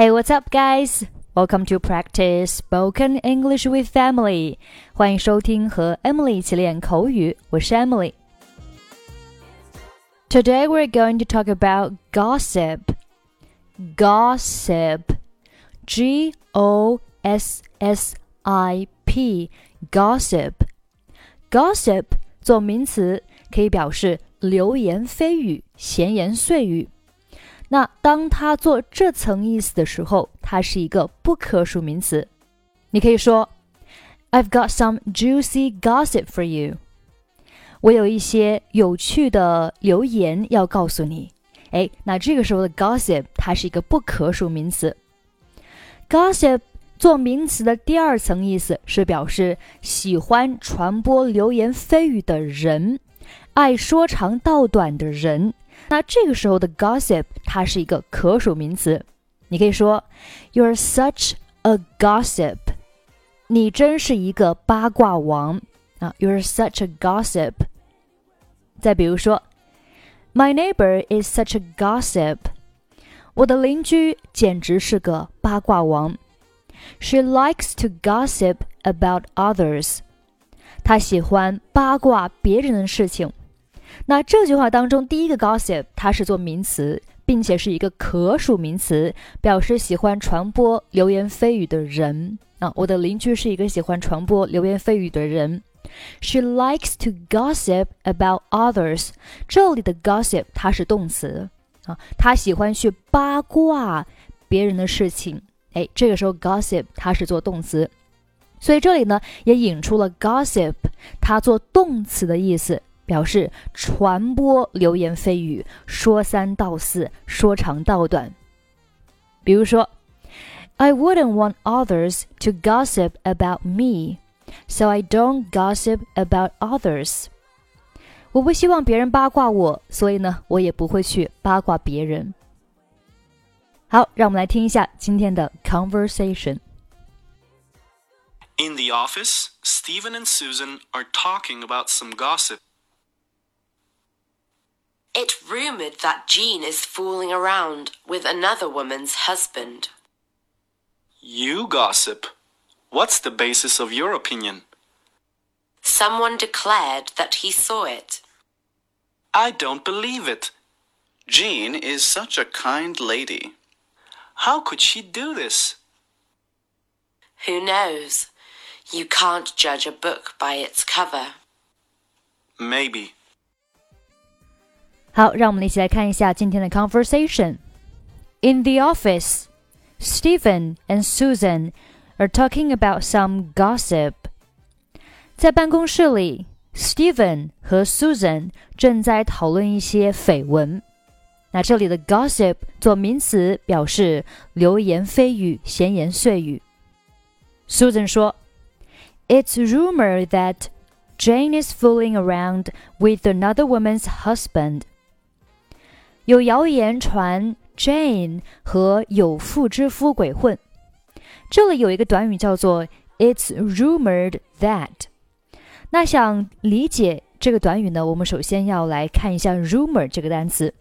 Hey, what's up, guys? Welcome to practice spoken English with Emily. 欢迎收听和 Emily 一起练口语，我是 Emily. Today we're going to talk about gossip. Gossip. G-O-S-S-I-P. Gossip. Gossip 做名词可以表示流言蜚语、闲言碎语。那当它做这层意思的时候，它是一个不可数名词。你可以说 I've got some juicy gossip for you. 我有一些有趣的流言要告诉你。那这个时候的 gossip 它是一个不可数名词。Gossip 做名词的第二层意思是表示喜欢传播流言蜚语的人，爱说长道短的人。那这个时候的 gossip 它是一个可数名词。你可以说 You're such a gossip. 你真是一个八卦王You're such a gossip. 再比如说 My neighbor is such a gossip. 我的邻居简直是个八卦王。She likes to gossip about others. 她喜欢八卦别人的事情。那这句话当中第一个 gossip 它是做名词，并且是一个可数名词，表示喜欢传播流言蜚语的人我的邻居是一个喜欢传播流言蜚语的人。She likes to gossip about others. 这里的 gossip 它是动词她喜欢去八卦别人的事情。这个时候 gossip 它是做动词，所以这里呢也引出了 gossip 它做动词的意思，表示传播流言蜚语，说三道四，说长道短。比如说 I wouldn't want others to gossip about me, so I don't gossip about others. 我不希望别人八卦我，所以呢，我也不会去八卦别人。好，让我们来听一下今天的 conversation. In the office, Stephen and Susan are talking about some gossip.It's rumored that Jean is fooling around with another woman's husband. You gossip. What's the basis of your opinion? Someone declared that he saw it. I don't believe it. Jean is such a kind lady. How could she do this? Who knows? You can't judge a book by its cover. Maybe. 好，让我们一起来看一下今天的 conversation. In the office, Stephen and Susan are talking about some gossip. 在办公室里 Stephen 和 Susan 正在讨论一些绯闻。那这里的 gossip 做名词表示流言蜚语、闲言碎语。Susan 说 It's rumored that Jane is fooling around with another woman's husband.有谣言传 Jane 和有妇之夫鬼混。这里有一个短语叫做 It's rumored that。 那想理解这个短语呢，我们首先要来看一下 rumor 这个单词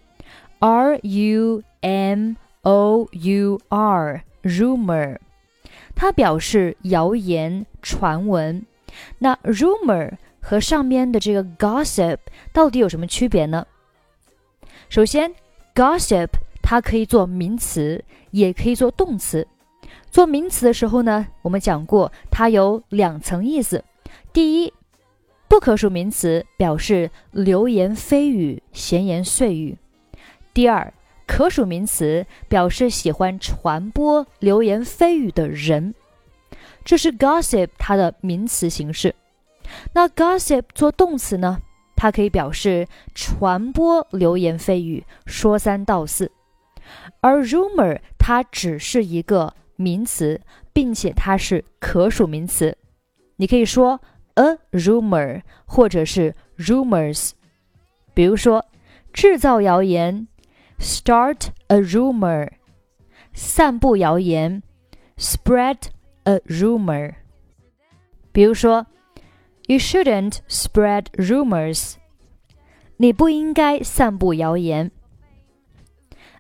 R-U-M-O-U-R rumor 它表示谣言传闻。那 rumor 和上面的这个 gossip 到底有什么区别呢？首先 gossip 它可以做名词，也可以做动词。做名词的时候呢，我们讲过它有两层意思。第一，不可数名词表示流言蜚语、闲言碎语。第二，可数名词表示喜欢传播流言蜚语的人。这是 gossip 它的名词形式。那 gossip 做动词呢，它可以表示传播流言蜚语，说三道四。而 rumor 它只是一个名词，并且它是可数名词。你可以说 a rumor 或者是 rumors。比如说制造谣言 start a rumor， 散布谣言 spread a rumor。 比如说You shouldn't spread rumors. 你不应该散布谣言。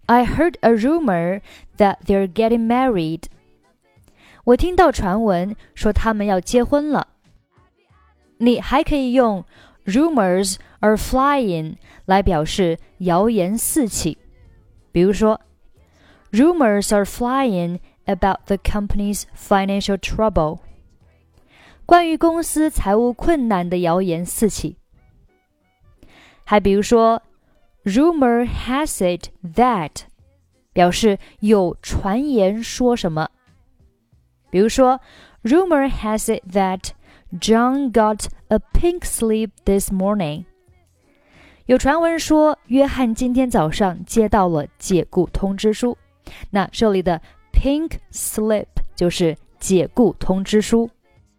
I heard a rumor that they're getting married. 我听到传闻说他们要结婚了。你还可以用 rumors are flying 来表示谣言四起。比如说 Rumors are flying about the company's financial trouble. 关于公司财务困难的谣言四起。还比如说 Rumor has it that 表示有传言说什么。比如说 Rumor has it that John got a pink slip this morning. 有传闻说约翰今天早上接到了解雇通知书。那这里的 pink slip 就是解雇通知书。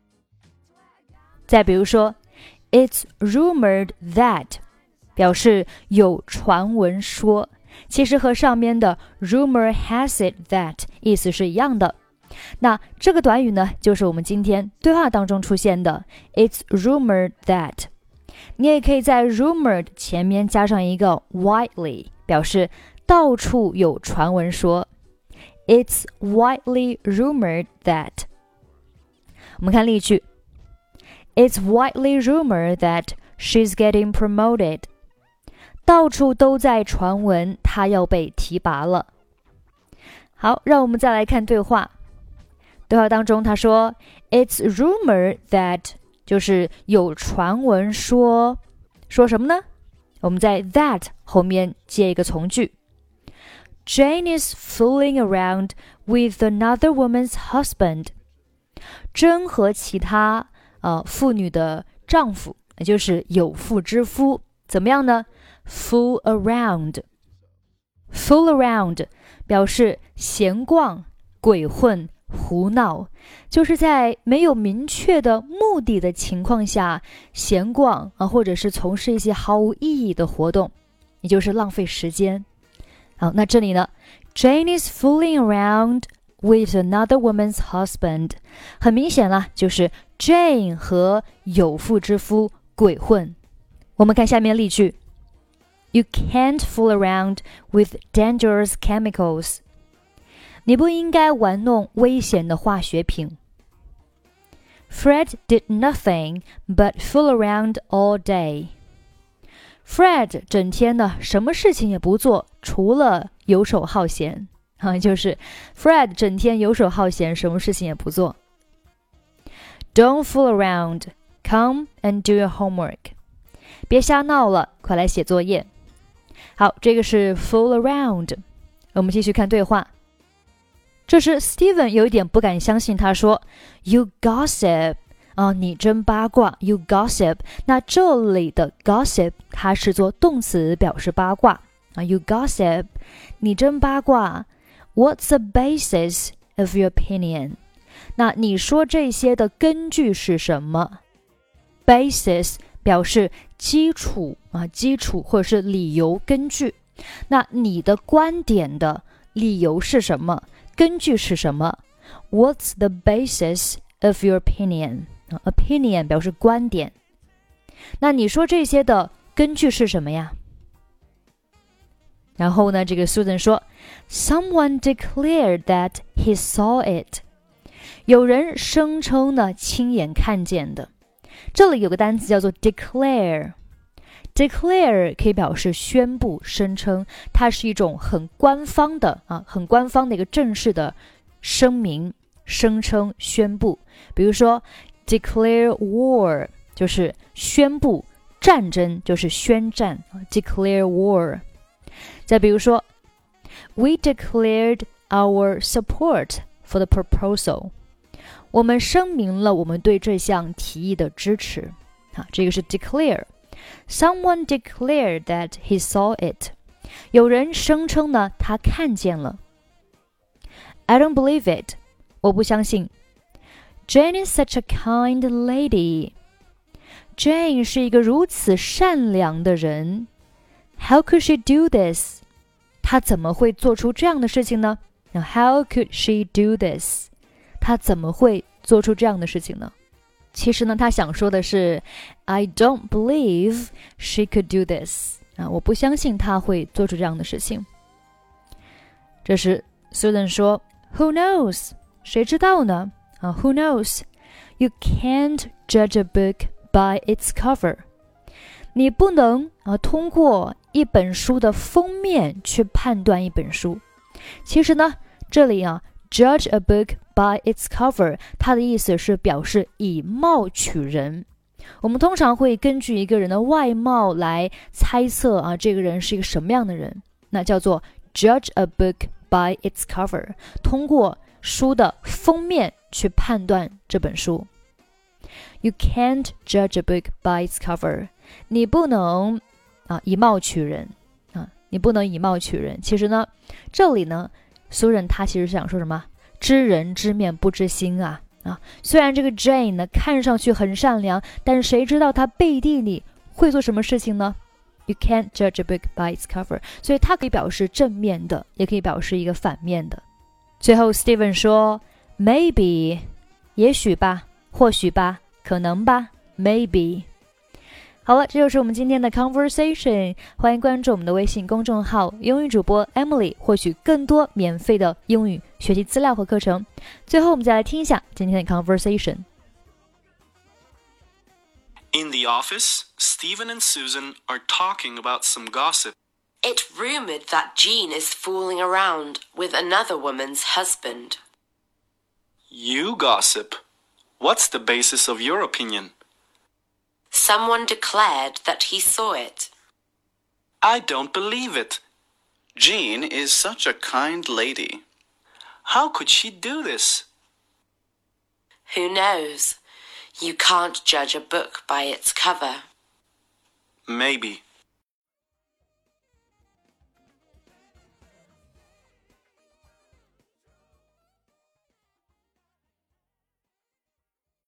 再比如说 It's rumored that 表示有传闻说，其实和上面的 rumor has it that 意思是一样的。那这个短语呢，就是我们今天对话当中出现的 It's rumored that。 你也可以在 rumored 前面加上一个 widely， 表示到处有传闻说。 It's widely rumored that。 我们看例句 It's widely rumored that she's getting promoted。 到处都在传闻她要被提拔了。好，让我们再来看对话。对话当中他说 It's rumored that 就是有传闻说什么呢？我们在 that 后面接一个从句 Jane is fooling around with another woman's husband。 珍和其他妇女的丈夫，也就是有妇之夫怎么样呢？ Fool around。 Fool around 表示闲逛、鬼混、胡闹，就是在没有明确的目的的情况下闲逛或者是从事一些毫无意义的活动，也就是浪费时间。好，那这里呢 Jane is fooling around with another woman's husband， 很明显了，就是 Jane 和有妇之夫鬼混。我们看下面例句 You can't fool around with dangerous chemicals。你不应该玩弄危险的化学品。Fred did nothing but fool around all day. Fred 整天呢什么事情也不做，除了游手好闲。就是 Fred 整天游手好闲，什么事情也不做。Don't fool around. Come and do your homework. 别瞎闹了，快来写作业。好，这个是 fool around。我们继续看对话。这时 Steven 有一点不敢相信，他说 You gossip。 你真八卦 You gossip。 那这里的 gossip 它是做动词表示八卦You gossip， 你真八卦。 What's the basis of your opinion？ 那你说这些的根据是什么？ Basis 表示基础基础或者是理由根据。那你的观点的理由是什么？根据是什么？ What's the basis of your opinion？ Opinion 表示观点。那你说这些的根据是什么呀？然后呢，这个 Susan 说 Someone declared that he saw it。 有人声称呢亲眼看见的。这里有个单词叫做 declare。 Declare 可以表示宣布、声称，它是一种很官方的一个正式的声明、声称、宣布。比如说 declare war 就是宣布战争，就是宣战declare war。再比如说 We declared our support for the proposal。 我们声明了我们对这项提议的支持。这个是 declare。 Someone declared that he saw it。 有人声称呢他看见了。 I don't believe it。 我不相信。 Jane is such a kind lady。 Jane 是一个如此善良的人。 How could she do this？ 她怎么会做出这样的事情呢？ How could she do this？ 她怎么会做出这样的事情呢？其实呢，他想说的是 I don't believe she could do this。 我不相信她会做出这样的事情。 这时 Susan 说 Who knows? 谁知道呢？Who knows? You can't judge a book by its cover. 你不能通过一本书的封面去判断一本书。其实呢，这里judge a book by its cover 它的意思是表示以貌取人。我们通常会根据一个人的外貌来猜测这个人是一个什么样的人，那叫做 judge a book by its cover， 通过书的封面去判断这本书。You can't judge a book by its cover. 你不能以貌取人你不能以貌取人。其实呢，这里呢，苏人他其实想说什么？知人知面不知心虽然这个 Jane 呢看上去很善良，但是谁知道她背地里会做什么事情呢？ You can't judge a book by its cover. 所以它可以表示正面的，也可以表示一个反面的。最后 Steven 说 Maybe 也许吧，或许吧，可能吧， Maybe。 好了，这就是我们今天的 conversation。 欢迎关注我们的微信公众号英语主播 Emily， 获取更多免费的英语学习资料和课程。最后我们再来听一下今天的 conversation。 In the office, Stephen and Susan are talking about some gossip. It's rumored that Jean is fooling around with another woman's husband. You gossip. What's the basis of your opinion? Someone declared that he saw it. I don't believe it. Jean is such a kind lady. How could she do this? Who knows? You can't judge a book by its cover. Maybe.